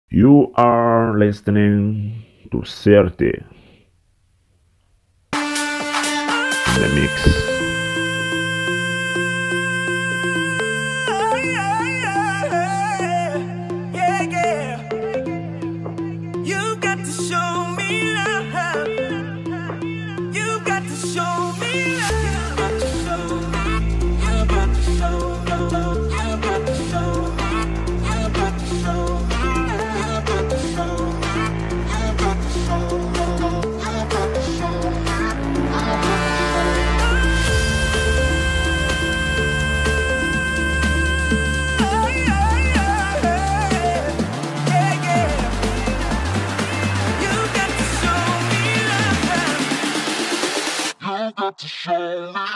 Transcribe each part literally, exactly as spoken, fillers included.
You are listening to thirty, the mix. To show me.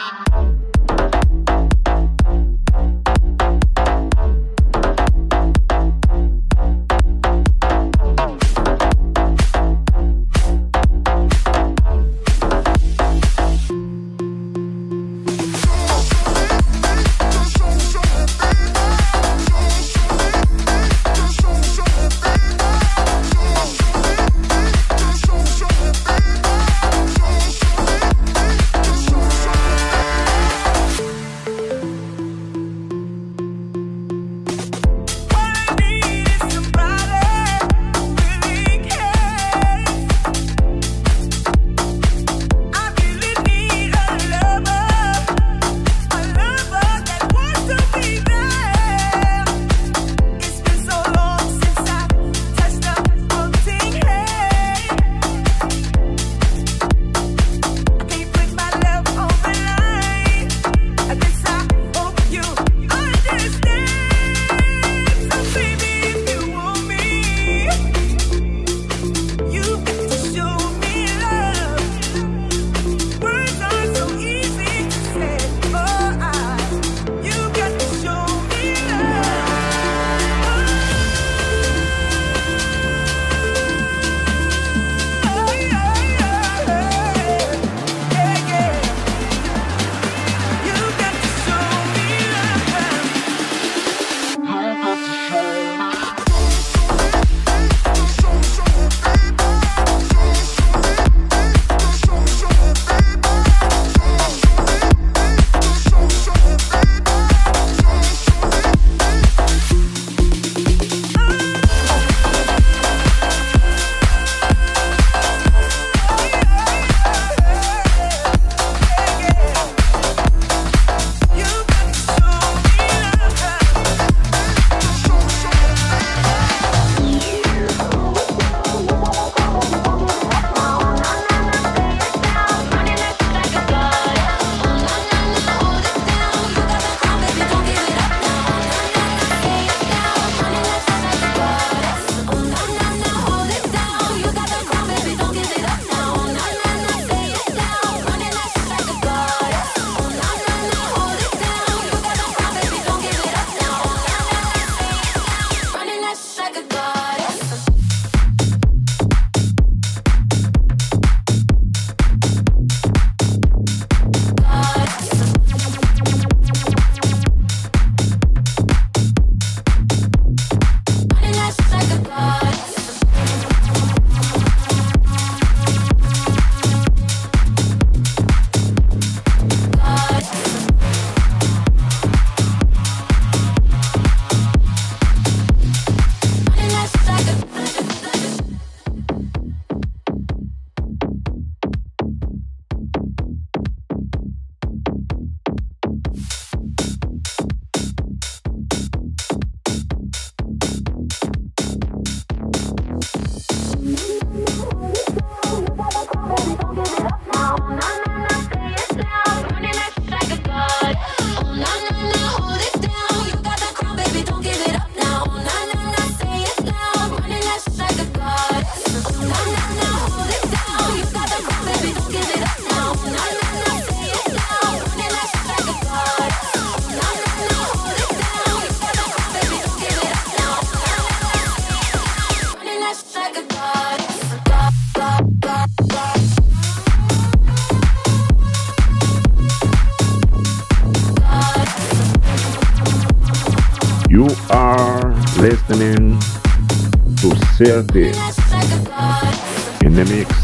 You are listening to thirty in the mix.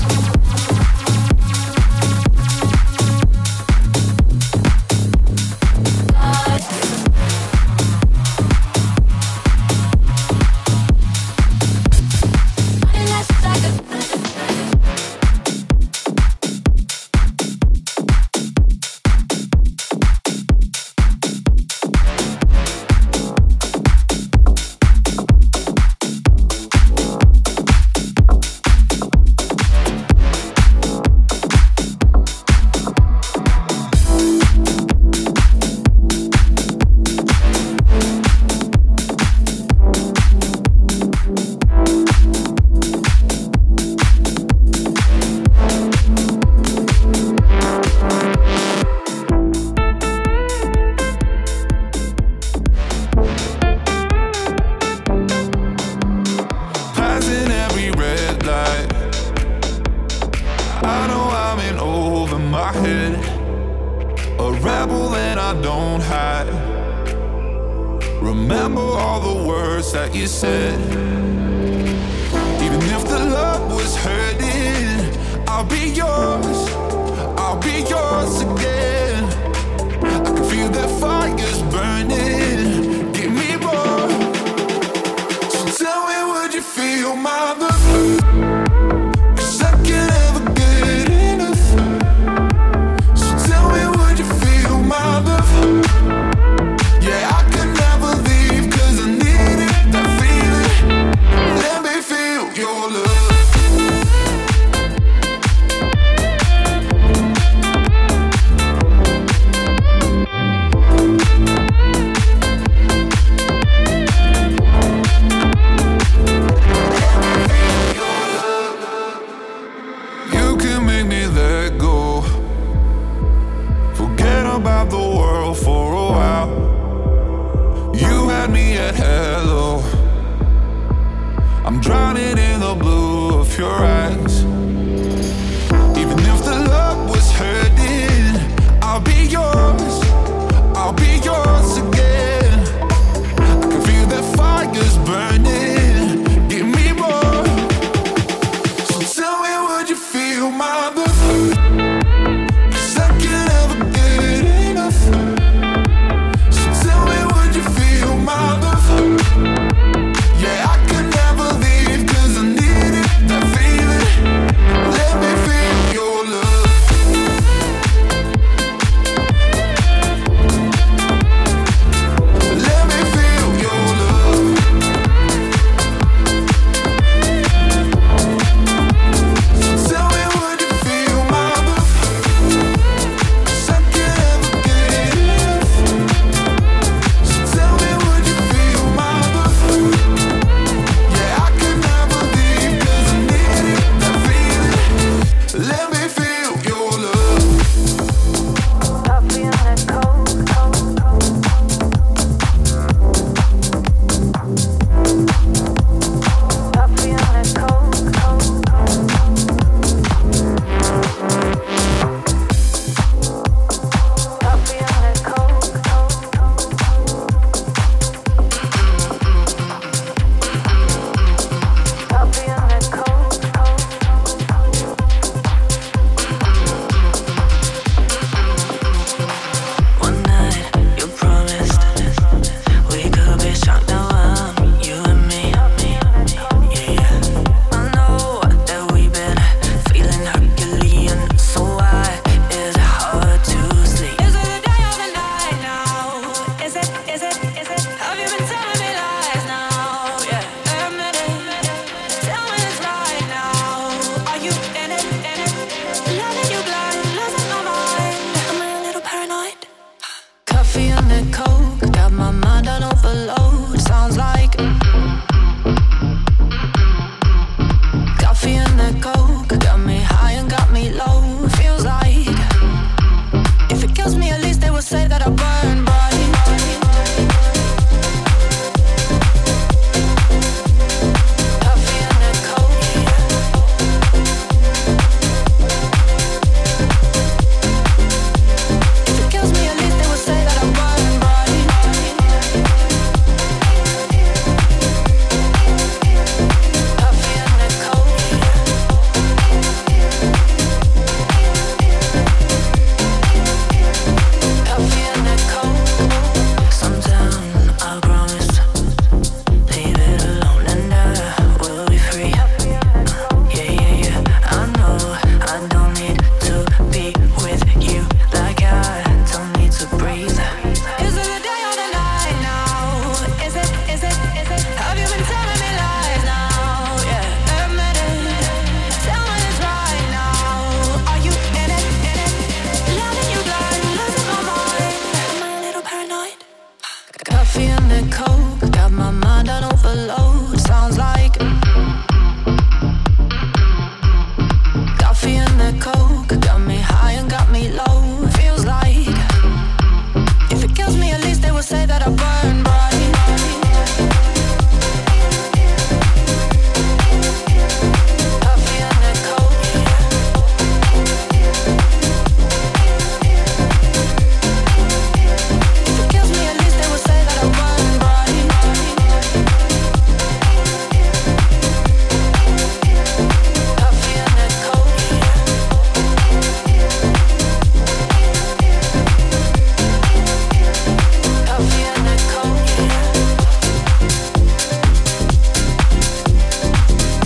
Remember all the words that you said. Even if the love was hurting, I'll be yours, I'll be yours again. I can feel that fire's burning, give me more. So tell me, would you feel my love? 'Cause I can't ever get enough. So tell me, would you feel my love? Yeah, I can never leave 'cause I need it, that feeling. Let me feel your love. You can make me let go, forget about the world for a while. You had me at hello, I'm drowning in the blue of your eyes. Even if the love was hurting, I'll be yours, I'll be yours again. I can feel that fire's burning, give me more. So tell me, would you feel my love? 'Cause I can't ever get enough. So tell me, would you feel my love? Yeah, I can never leave 'cause I need it, that feeling. Let me feel your love.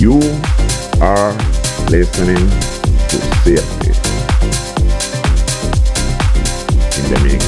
You are listening to Sirti in the mix.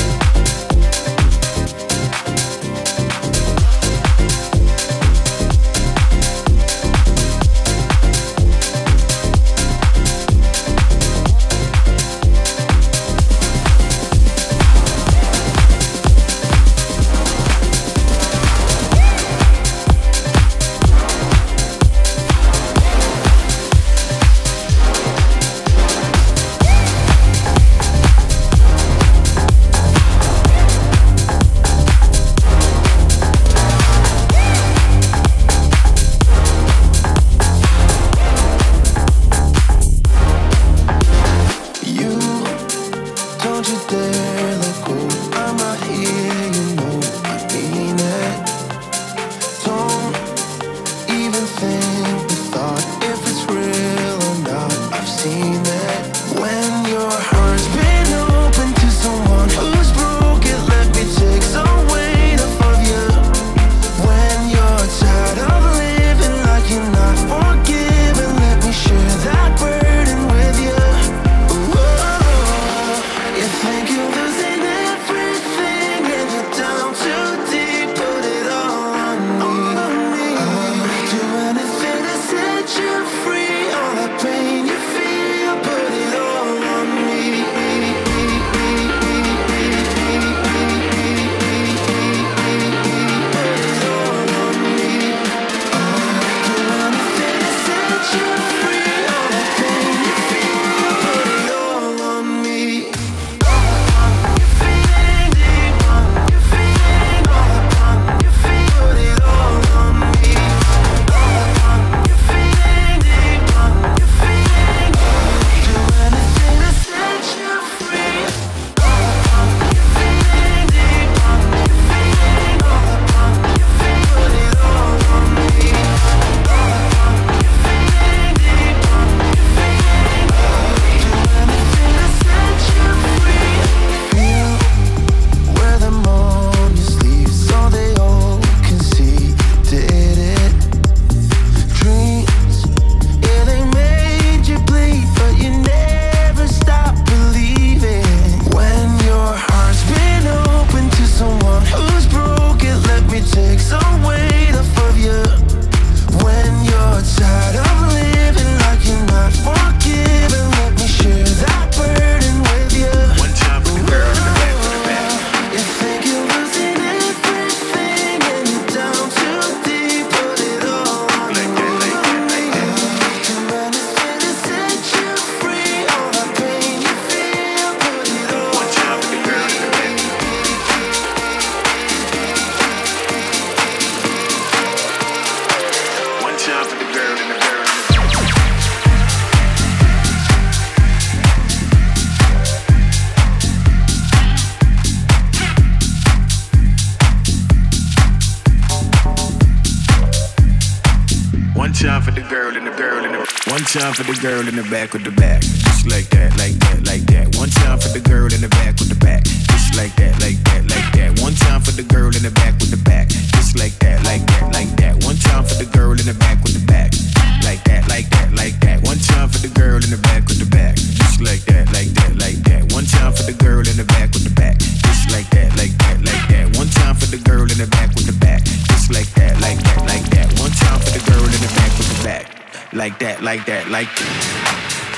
time for the girl and the girl in the one time for the girl in the back with the back, just like that, like that, like that. One time for the girl in the back with the back, just like that, like that, like that. One time for the girl in the back with the back, just like that, like that, like that. One time for the girl in the back with the back, like that, like that, like that. One time for the girl in the back with the back, just like that, like that, like that. One time for the girl in the back with the back, just like that, like that, like that. One time for the girl in the back with the back, just like that, like that, like that. One time for the girl in the back with the back, like that, like that, like that.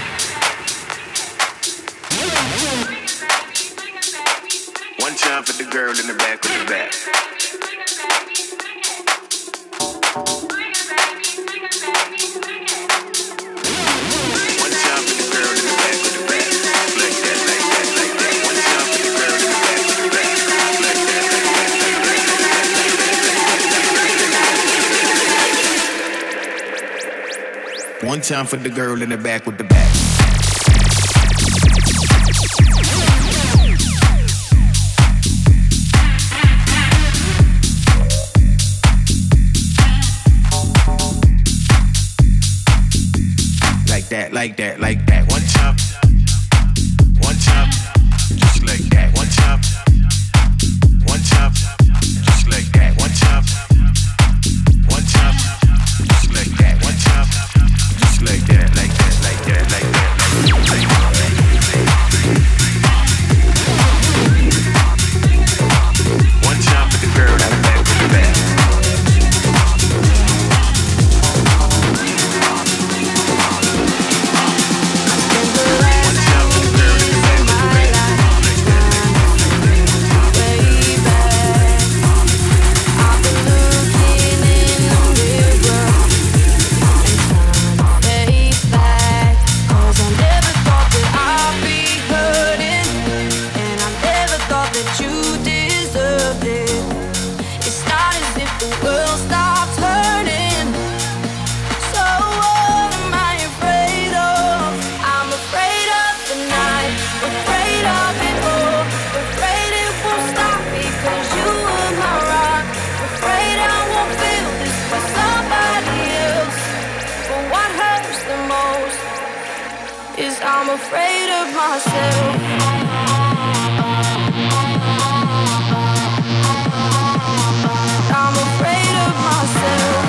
One time for the girl in the back with the back. One time for the girl in the back with the back, like that, like that, like that. One time for the girl in the back with the back, like that, like that, like that. One time for the girl in the back with the back. That, like that, like that. One time, one time, just like that. One time, one time, just like that. One time, one time, just like that. One time. is I'm afraid of myself. I'm afraid of myself.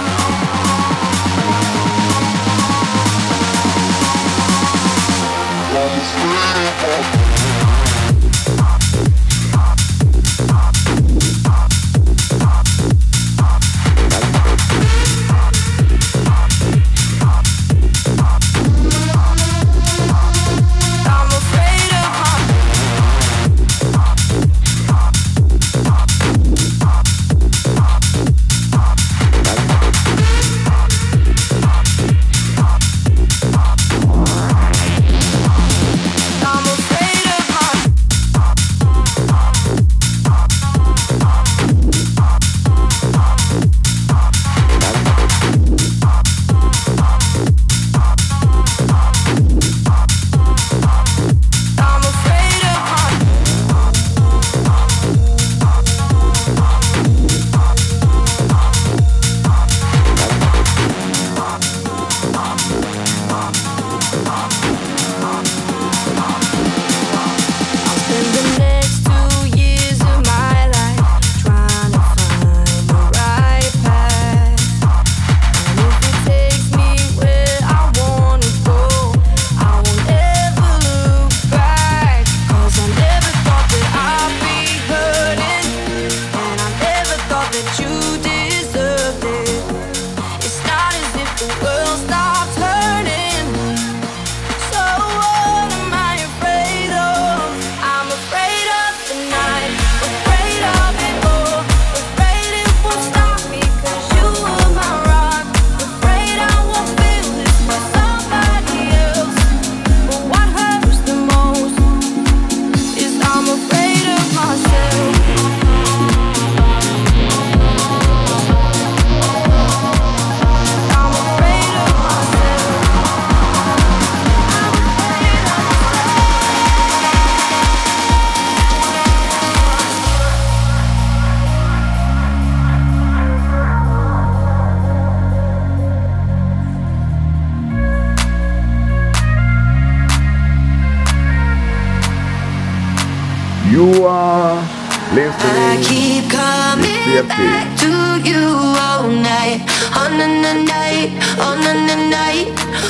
You are listening. I keep coming back to you all night, on the night, on the night,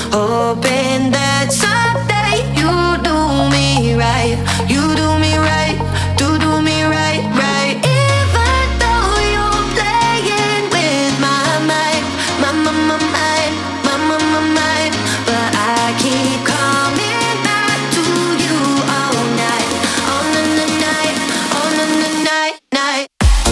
hoping that someday you do me right, you do me right, do do me right, right. Even though you're playing with my mind, my my my mind, my my my mind, but I keep coming back to you all night, on the night, on the night, night.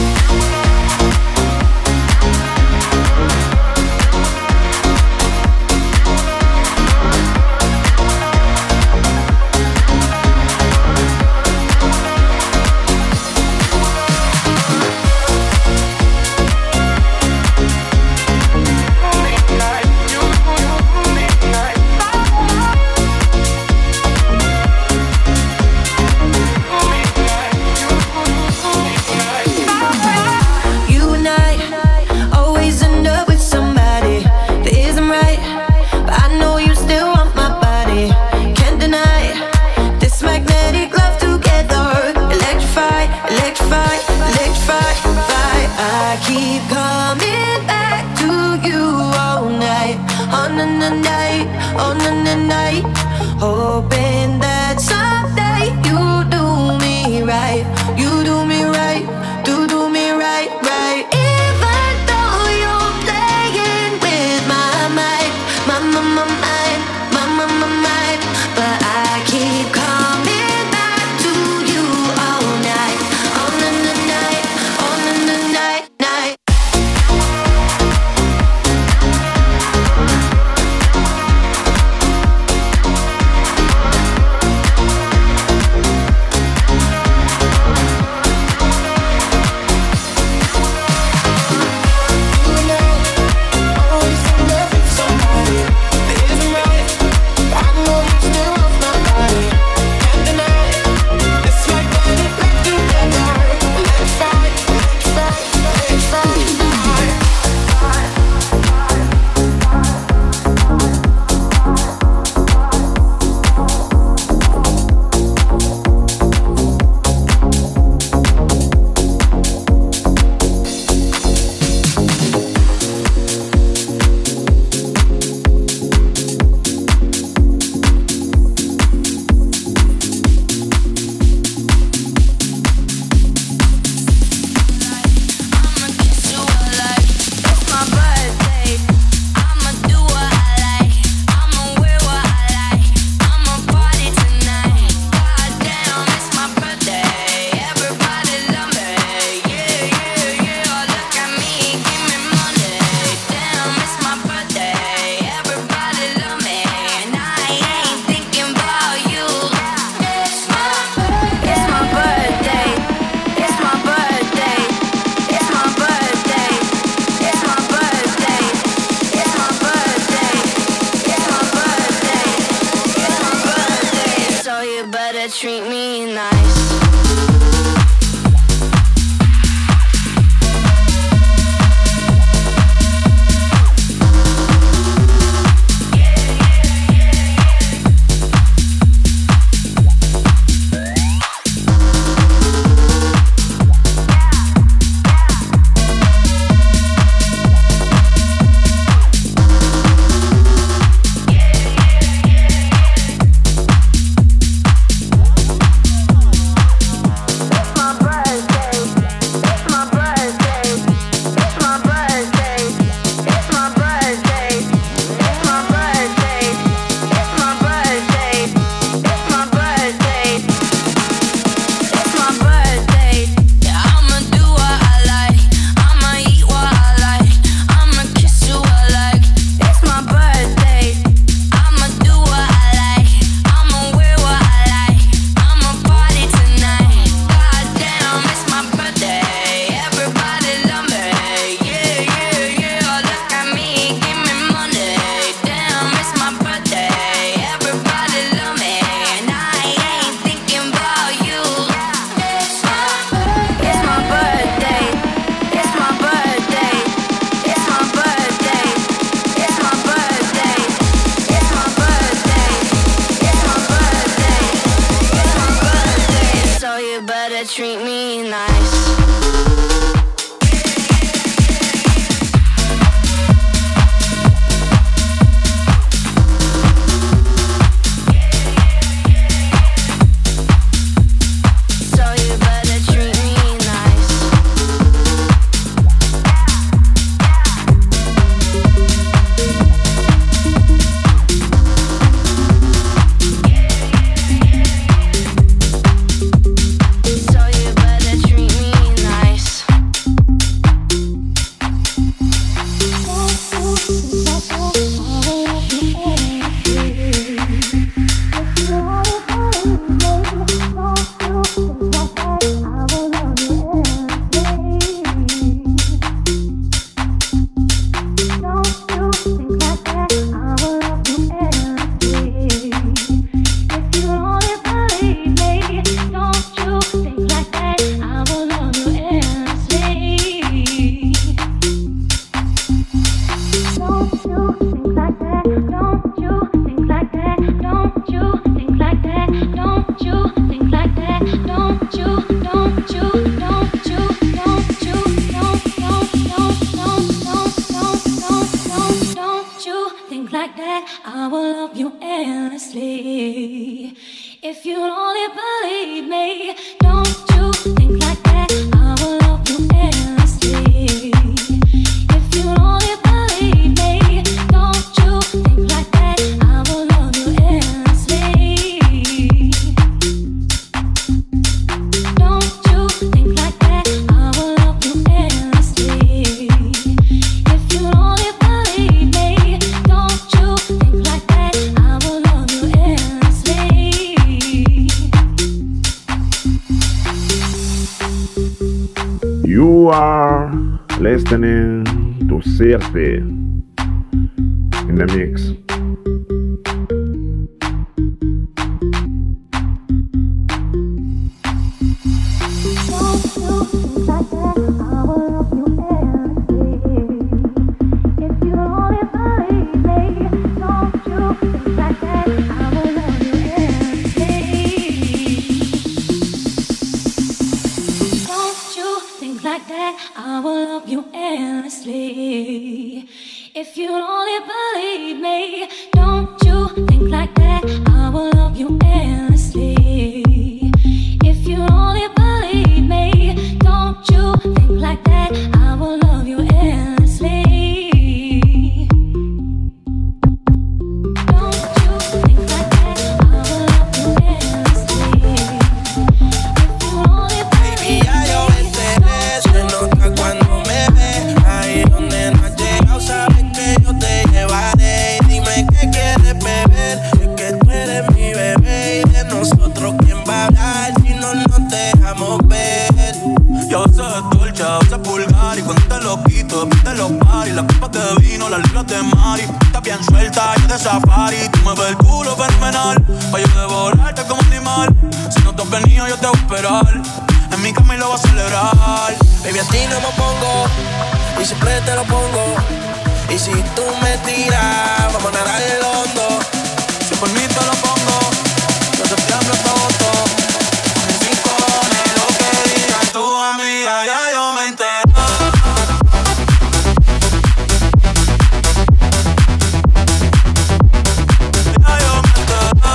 Keep coming back to you all night, on the night, on the night, hoping that someday you do me right, you do me right, do do me right, right. Even though you're playing with my mind, my my my mind, my my my mind, but I keep coming back to you all night, on the night, on the night, night. treat me nice. You are listening to Circe in the mix. I will love you endlessly. If you only believe me, don't you think like that? I will love you endlessly. If you only believe me, don't you think like that? I will love you endlessly. Don't you think like that? I will love you endlessly. If you only believe me. Yo sé dulce, a veces vulgar y cuando te lo quito, de los paris, las copas de vino, las libras de Mari. Estás bien suelta, yo de safari, tú me ves el culo fenomenal. Pa' yo devorarte como animal, si no te has venido yo te voy a esperar. En mi cama y lo voy a celebrar. Baby, a ti no me pongo, y siempre te lo pongo. Y si tú me tiras, vamos a nadar el hondo. Si por mí te lo pongo, de septiembre hasta agosto. Tu amiga, ya yo me enteré. Ya yo me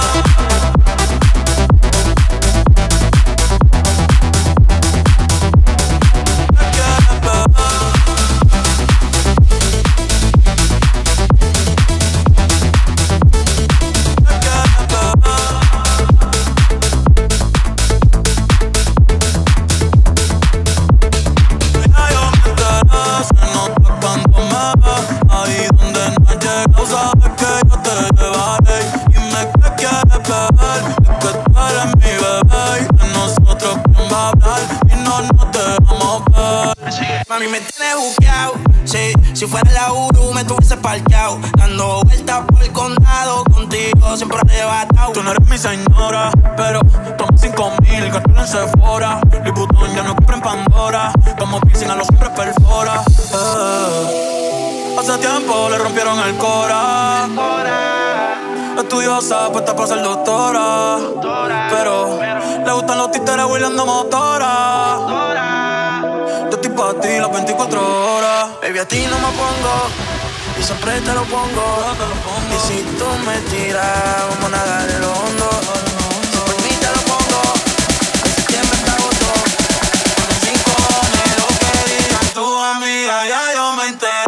Mami, me tienes buqueado, sí. Si fuera la Uru me tuviese parqueado, dando vueltas por el condado, contigo siempre arrebatado. Tú no eres mi señora, pero toma cinco mil, gastarlo en Sephora. Louis Vuitton ya no compra en Pandora, como piercing a los hombres perfora. eh. Hace tiempo le rompieron el cora. estudiosa, puesta para ser doctora. Pero le gustan los títeres huirleando motora. Yo estoy pa' ti las veinticuatro horas. Baby, a ti no me pongo y siempre te lo pongo. Y si tú me tiras, vamos a nadar en lo hondo. Si por mí te lo pongo, en septiembre hasta agosto. Sin cojones lo que digan tu amiga, ya yo me entero.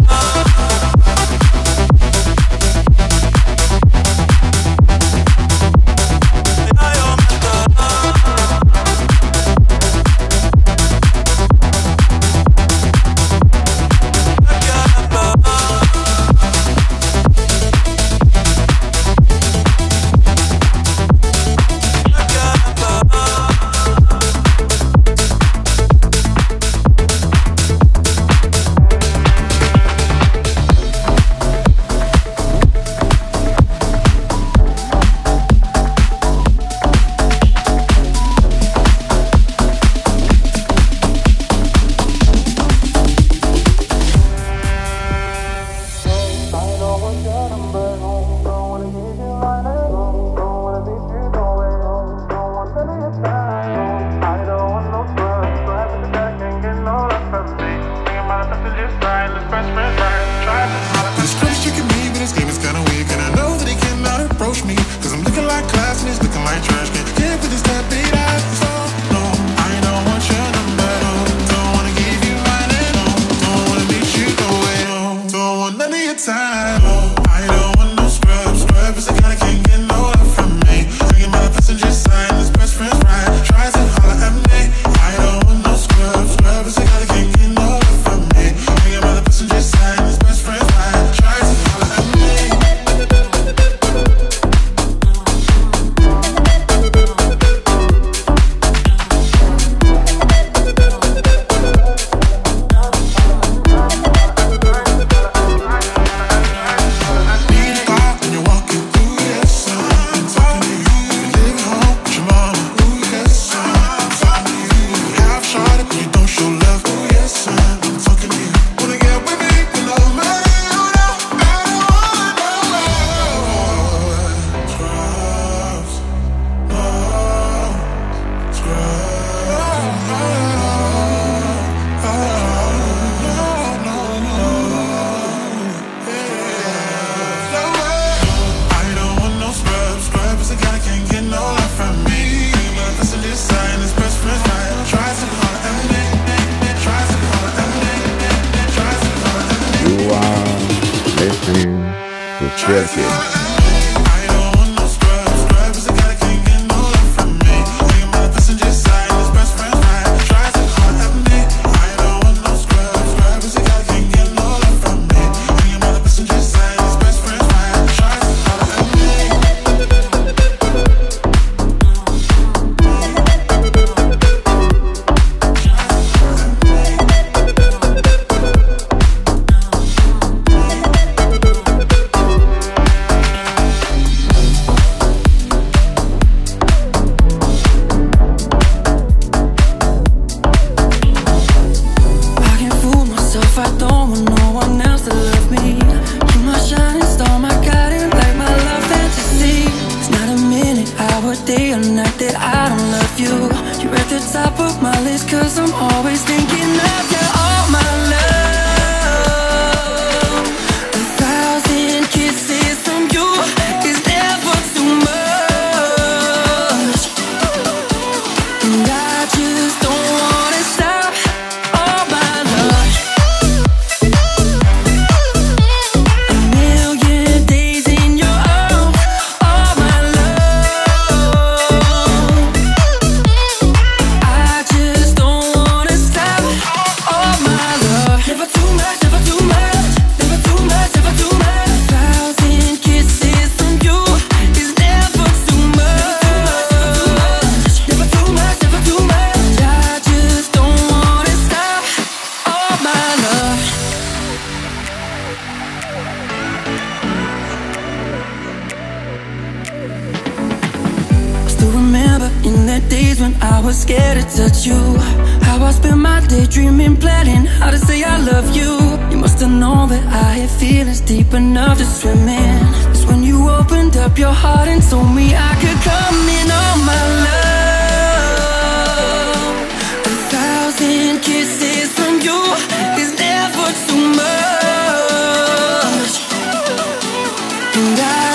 Deep enough to swim in. It's when you opened up your heart.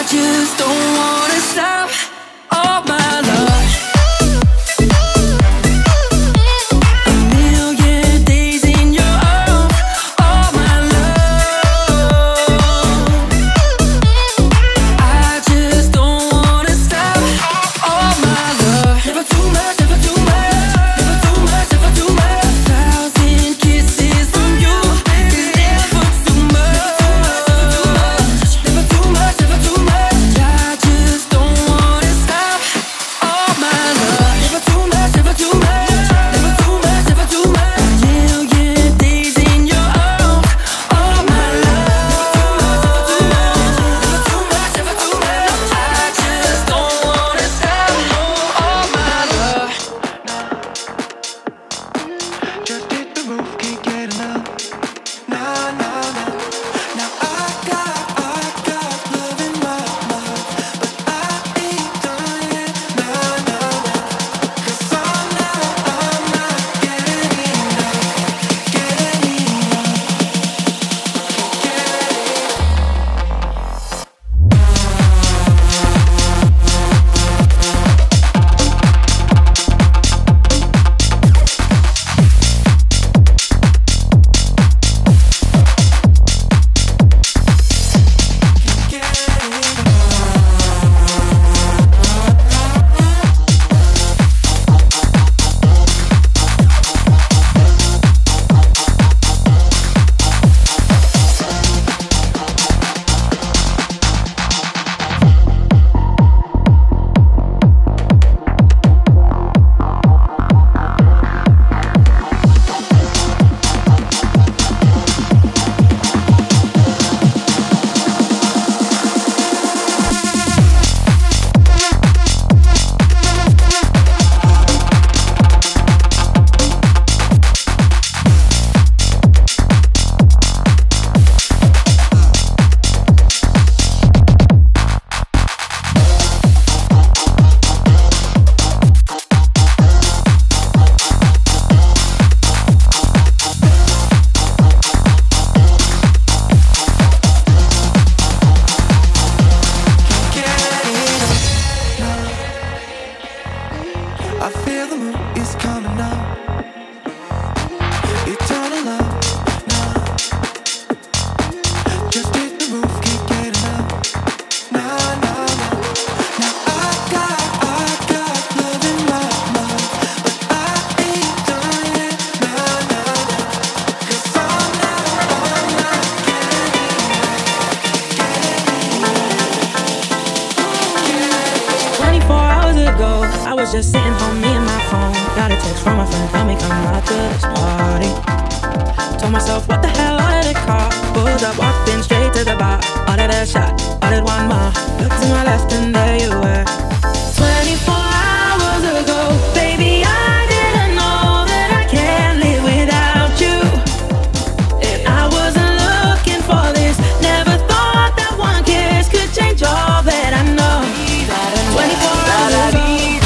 just don't wanna stop all my love. Just sitting home, me and my phone. Got a text from my friend, tell me come out to this party. Told myself, what the hell, what did it cost? Pulled up, walked in straight to the bar. Ordered a shot, ordered one more. Looked to my left and there you were. twenty-four hours ago, baby, I didn't know that I can't live without you. If I wasn't looking for this, never thought that one kiss could change all that I know. twenty-four hours ago.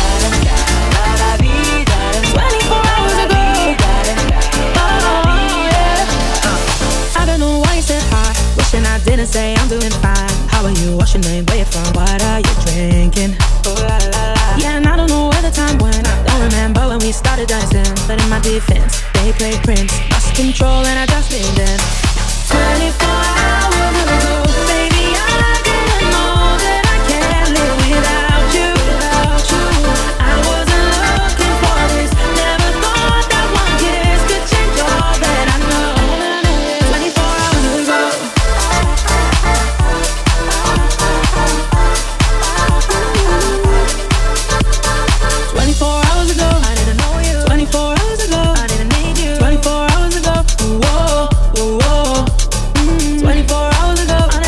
I didn't say I'm doing fine. How are you? What's your name? Where you from? What are you drinking? Oh, la, la, la. Yeah, and I don't know where the time went. I don't remember when we started dancing. But in my defense, they played Prince. Lost control and I just leaned in. twenty-four hours ago, baby, I didn't know that I can't live without you. Without you. I wasn't looking for this. Never thought that one kiss could change all that I know. twenty-four hours ago. twenty-four hours ago, I didn't know you. twenty-four hours ago, I didn't need you. twenty-four hours ago, whoa, whoa, whoa. Mm. twenty-four hours ago, I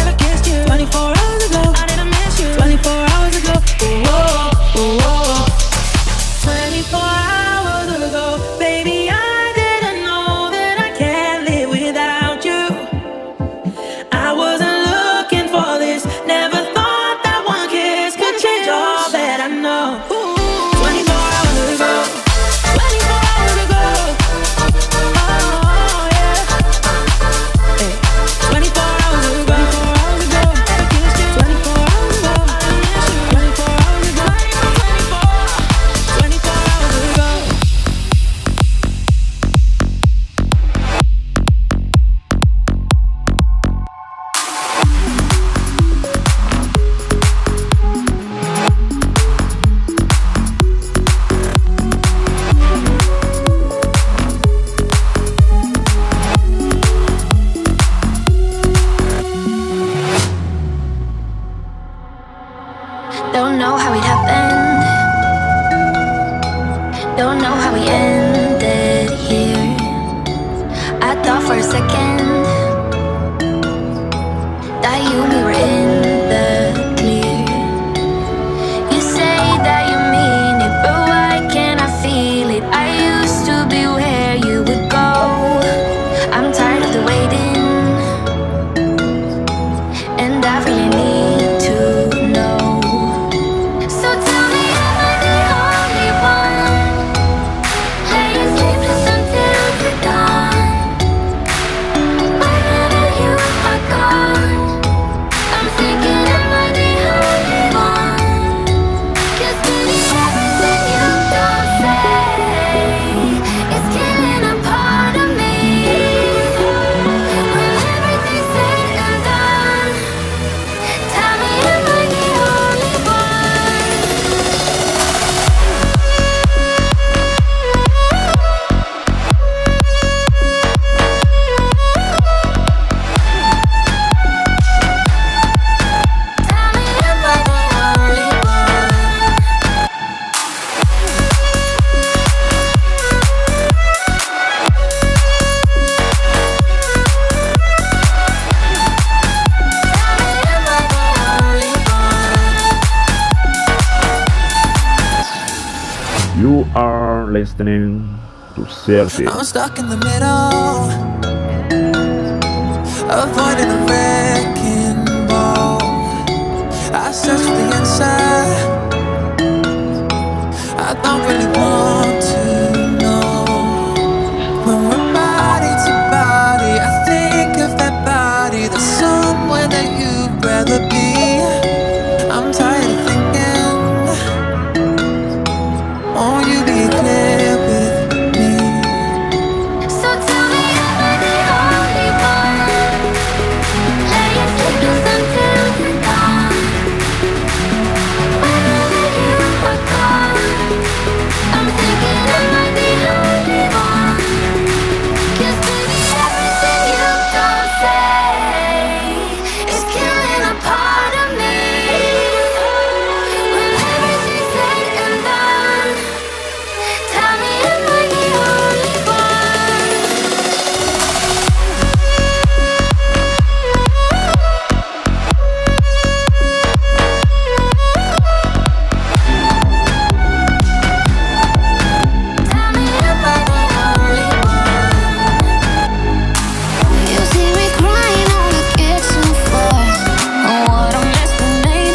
Don't know how it happened. Don't know how we ended here. I thought for a second that you and me were in the clear. You say that you mean it, but why can't I feel it? I used to be where you would go. I'm tired of the waiting, and I really need to know. So tell me, am I the only one laying sleepless until the dawn? Whenever you are gone, I'm thinking, am I the only one? 'Cause baby, everything you don't say is killing a part of me. When everything's said and done, tell me, am I the only one? Tell me, am I the only one? Am I the only one? You are listening to Serpi. I'm stuck in the middle, avoiding the wrecking ball. I search for the inside. I don't really want to know. When we're body to body, I think of that body. There's somewhere that you'd rather be. I'm tired of thinking. Won't you be clear with me? So tell me, am I the only one laying sleepless until the dawn? Whenever you are gone, I'm thinking, am I the only one? 'Cause baby, everything you don't say is killing a part of me. When everything's said and done, tell me, am I the only one? Tell me, am I the only one? You see me crying on the kitchen floor. Oh, what a mess we made.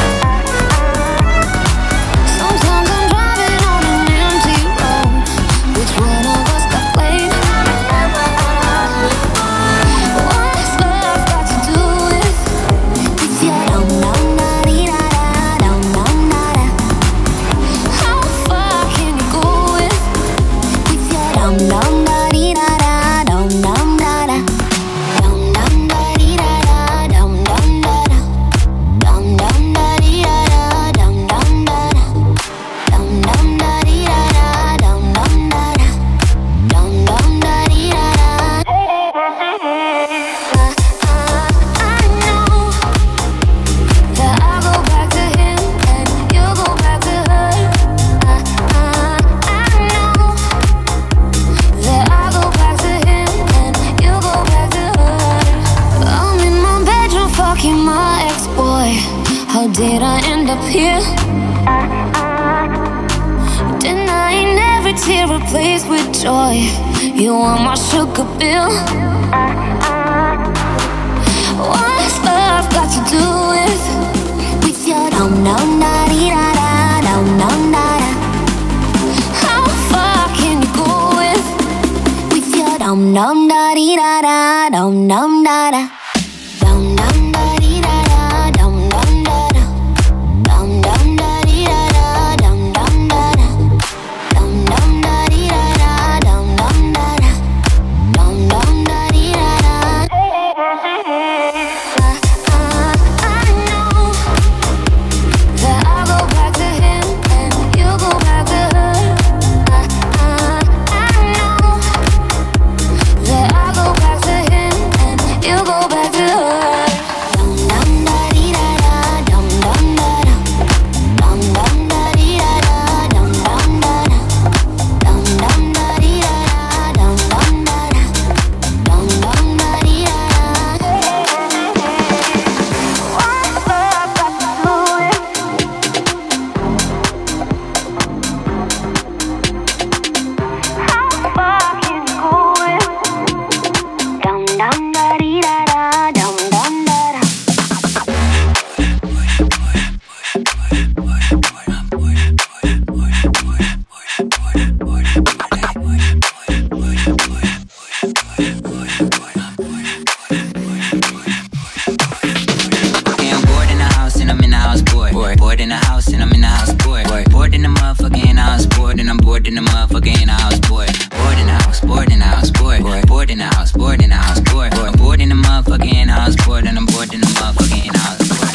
Sometimes I'm driving on an empty road. Which one of us got played? What's love got to do with if you don't know, da-dee-da-da, don't know, nada? How far can you go with if you don't know, da-dee-da-da, don't know, nada? Don't know, da-dee-da-da, don't know, nada. Don't know, da-dee-da-da, don't know, nada. Don't know, da-dee-da-da, don't know, nada. Don't know, da-dee-da-da. I know that I go back to him and you go back to her. I know that I go back to him and you go back to her. I'm in my bedroom fucking my ex-boy. How did I end up here? Denying every tear replaced with joy. You want my sugar bill? What's love got to do with with your don't know, da-dee-da-da, don't know, nada? How far can you go with with your don't know, da-dee-da-da, don't know, nada? Don't know, da-dee-da-da, don't know, nada. Don't know, da-dee-da-da, don't know, nada. Don't know, da-dee-da-da, don't know, nada. Don't know, da-dee-da-da. I know in the house and I'm in the house, boy. Bored in the motherfucker in the house, bored and I'm bored in the motherfucker in the house, boy. Bored in the house, bored in the house, boy. Bored in the house, bored in the house, boy. I'm bored in the motherfucker in the house, bored and I'm bored in the motherfucker in the house, boy.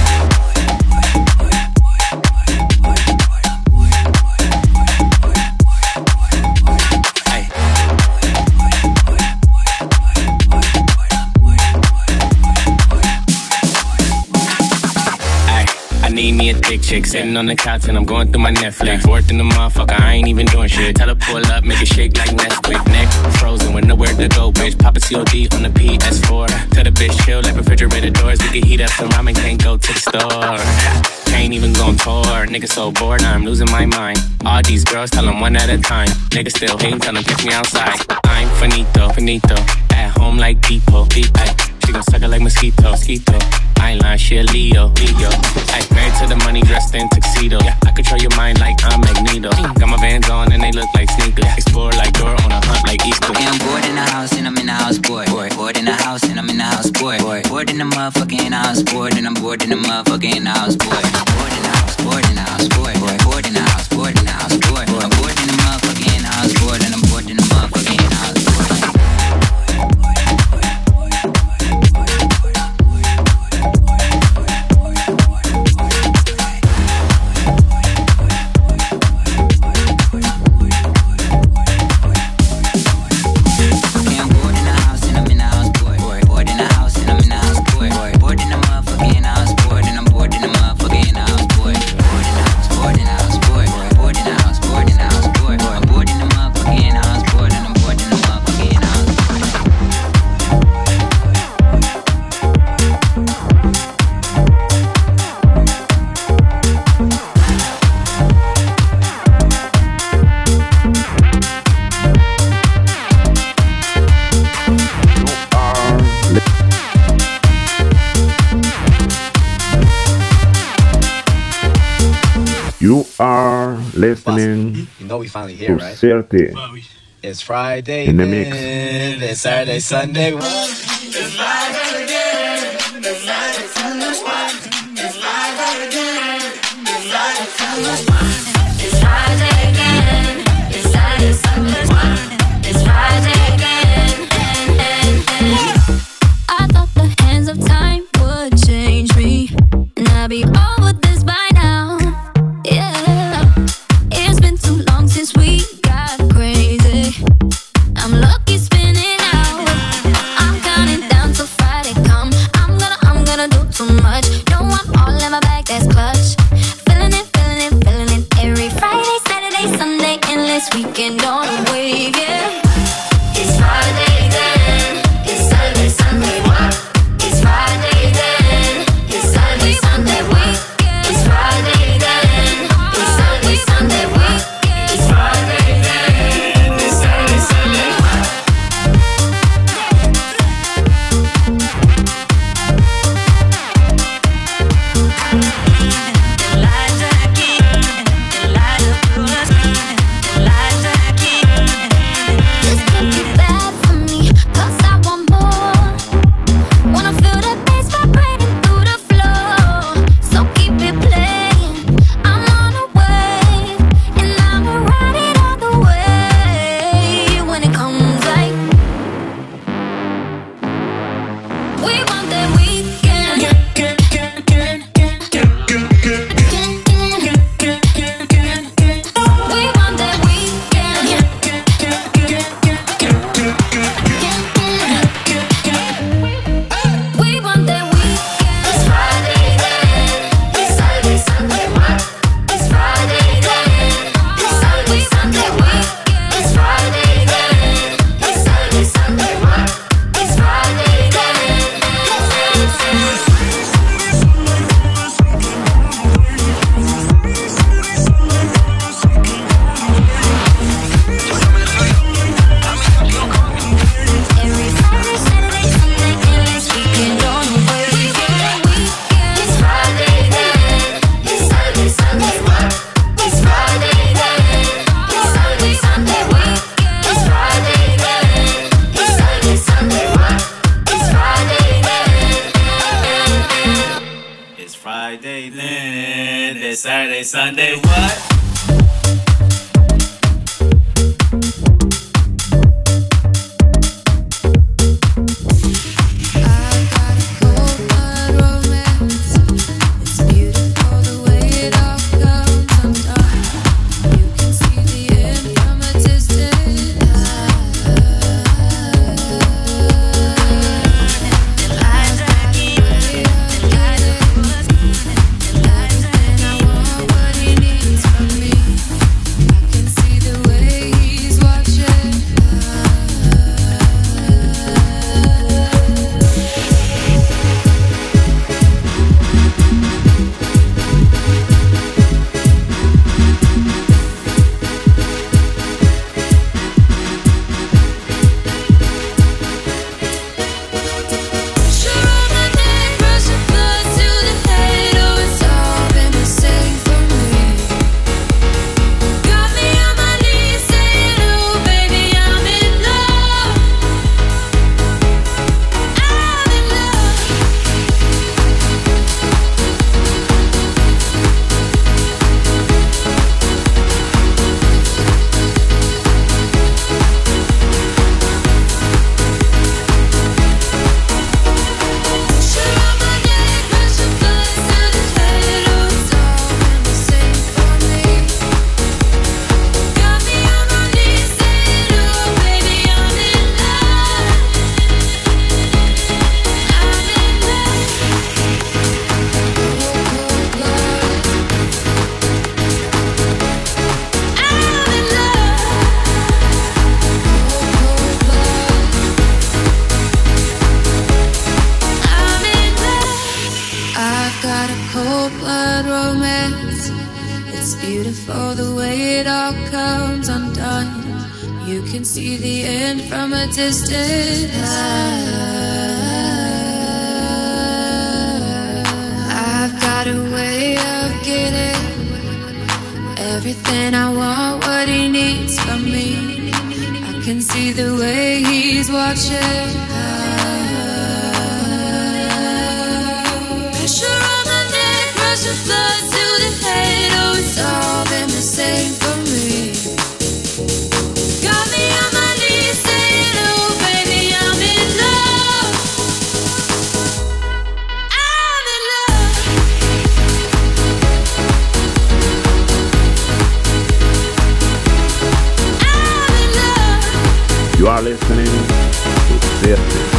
Need me a thick chick sitting on the couch and I'm going through my Netflix. Fourth in the motherfucker, I ain't even doing shit. Tell her pull up, make it shake like Nesquik. Neck frozen with nowhere to go, bitch. Pop a C O D on the P S four. Tell the bitch chill like refrigerator doors. We can heat up some ramen, can't go to the store. Can't even go on tour. Nigga so bored, now I'm losing my mind. All these girls tell them one at a time. Nigga still hating, tell them pick me outside. I'm finito, finito. At home like Depot, Depot. She gon' suck it like mosquito, mosquito. I ain't lying, she a Leo, Leo. Ay, married to the money, dressed in tuxedo. Yeah, I control your mind like I'm Magneto. Got my Vans on and they look like sneakers. Explore like Dora on a hunt like Easter. Yeah, I'm bored in the house and I'm in the house, boy. Boy. Bored in the house and I'm in the house, boy. Boy. Bored in the motherfucker in the house, bored and I'm bored in the motherfucker in the house, boy. Bored in the house, bored in the house, boy. Boy. Bored in the house, bored in the house, boy. I'm bored in the motherfucker in the house, bored and I'm bored in the motherfucker in the house, boy. You are listening you know we finally here, to right? thirty. It's Friday in the mix. Then. It's Saturday, Sunday. It's Friday again. It's Friday, Sunday. It's Friday again. It's Friday, Sunday. It's Friday again. It's Saturday, Sunday. It's Friday again. I thought the hands of time would change me, and I'd be over this by now. Yeah, it's been too long since we got crazy. I'm lucky spinning out. I'm counting down till Friday come. I'm gonna, I'm gonna do too much. No, I'm all in my bag, that's clutch. Feeling it, feeling it, feeling it. Every Friday, Saturday, Sunday, endless weekend on a wave, yeah. It's Friday then. It's Saturday, Sunday, what? It's Friday then. It's Saturday, Sunday, what? It's Friday then. It's Saturday, Sunday, what? It's Friday then. It's Saturday, Sunday, what? It's Friday then, it's Saturday, Sunday, what? beautiful the way it all comes undone. You can see the end from a distance. I've got a way of getting everything I want, what he needs from me. I can see the way he's watching. Pressure on my neck, rushing blood to the head. Oh, it's all been the same for me. Got me on my knees saying, oh baby, I'm in love. I'm in love. I'm in love. You are listening to Versus.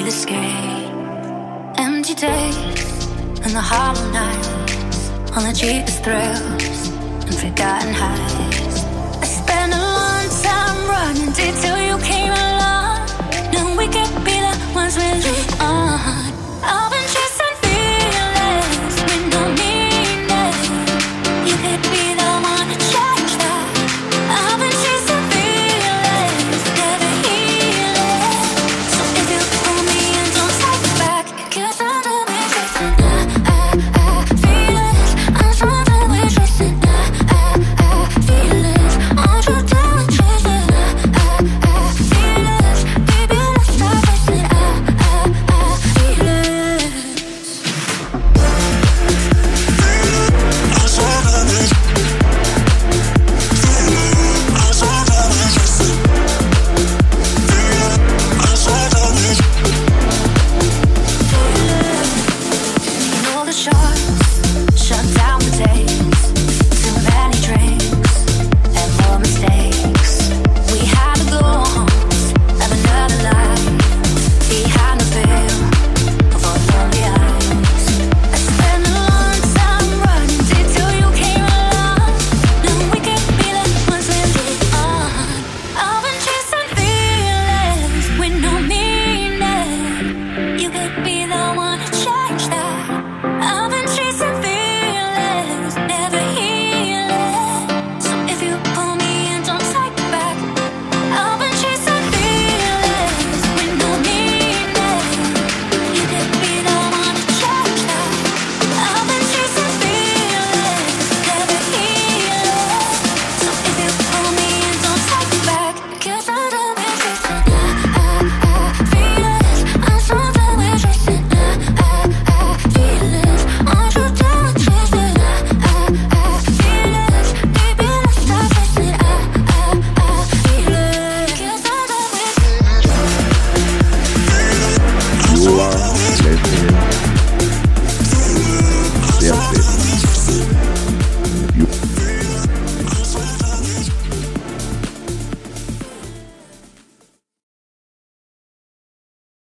the escape. Empty days and the hollow nights, on the cheapest thrills and forgotten highs. I spend a long time running, detail